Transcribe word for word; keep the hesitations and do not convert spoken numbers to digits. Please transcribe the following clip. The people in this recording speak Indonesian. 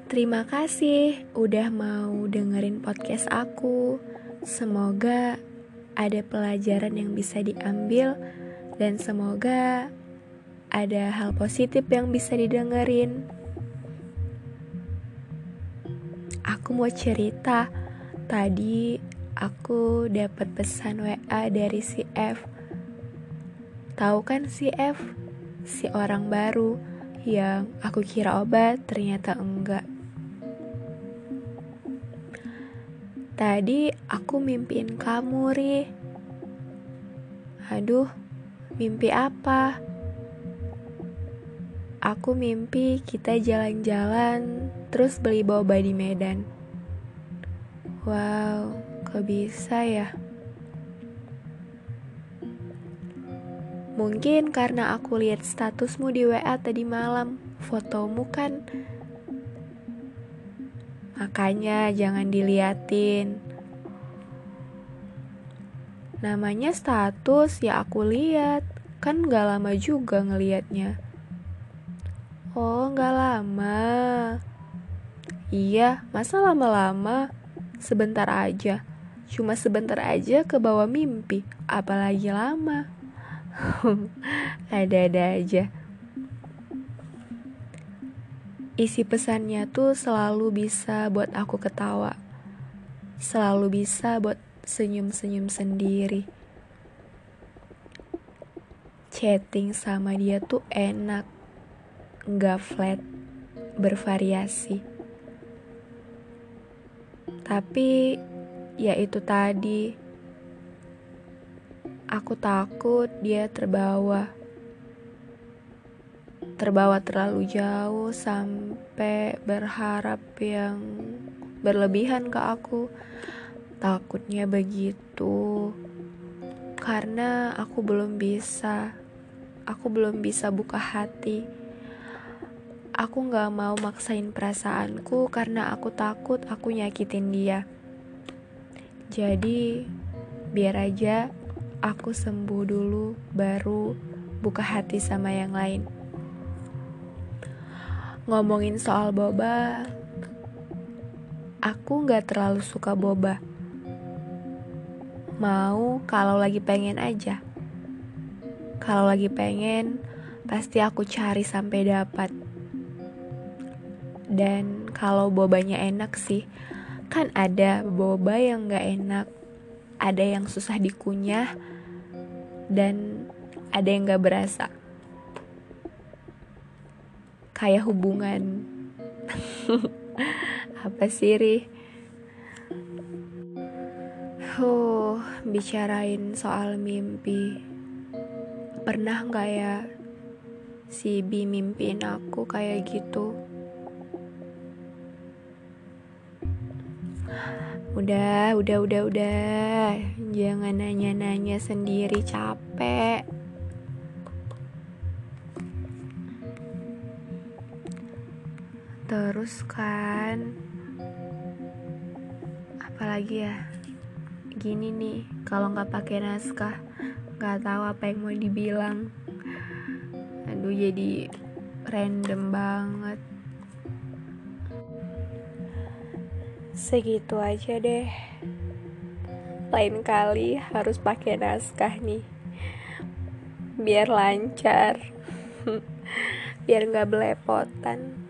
Terima kasih udah mau dengerin podcast aku. Semoga ada pelajaran yang bisa diambil dan semoga ada hal positif yang bisa didengerin. Aku mau cerita. Tadi aku dapat pesan W A dari si F. Tahu kan si F? Si orang baru yang aku kira obat, ternyata enggak. Tadi aku mimpiin kamu, Ri. Aduh, mimpi apa? Aku mimpi kita jalan-jalan, terus beli boba di Medan. Wow, kok bisa ya? Mungkin karena aku lihat statusmu di W A tadi malam, fotomu kan. Makanya jangan diliatin. Namanya status, ya aku lihat. Kan gak lama juga ngelihatnya. Oh, gak lama. Iya, masa lama-lama? Sebentar aja. Cuma sebentar aja ke bawah mimpi. Apalagi lama. Ada-ada aja. Isi pesannya tuh selalu bisa buat aku ketawa. Selalu bisa buat senyum-senyum sendiri. Chatting sama dia tuh enak, gak flat, bervariasi. Tapi ya itu tadi, aku takut dia terbawa. Terbawa terlalu jauh sampai berharap yang berlebihan ke aku. Takutnya begitu. Karena aku belum bisa. Aku belum bisa buka hati. Aku gak mau maksain perasaanku karena aku takut aku nyakitin dia. Jadi biar aja aku sembuh dulu baru buka hati sama yang lain. Ngomongin soal boba, aku gak terlalu suka boba. Mau kalau lagi pengen aja. Kalau lagi pengen, pasti aku cari sampai dapat. Dan kalau bobanya enak sih, kan ada boba yang gak enak. Ada yang susah dikunyah, dan ada yang gak berasa. Kayak hubungan. Apa sih, Ri? Huh, bicarain soal mimpi. Pernah gak ya si Bi mimpiin aku kayak gitu? Udah, udah, udah, udah. Jangan nanya-nanya sendiri, capek. Terus kan, apalagi ya? Gini nih, kalau nggak pakai naskah, nggak tahu apa yang mau dibilang. Aduh, jadi random banget. Segitu aja deh. Lain kali harus pakai naskah nih, biar lancar, biar nggak belepotan.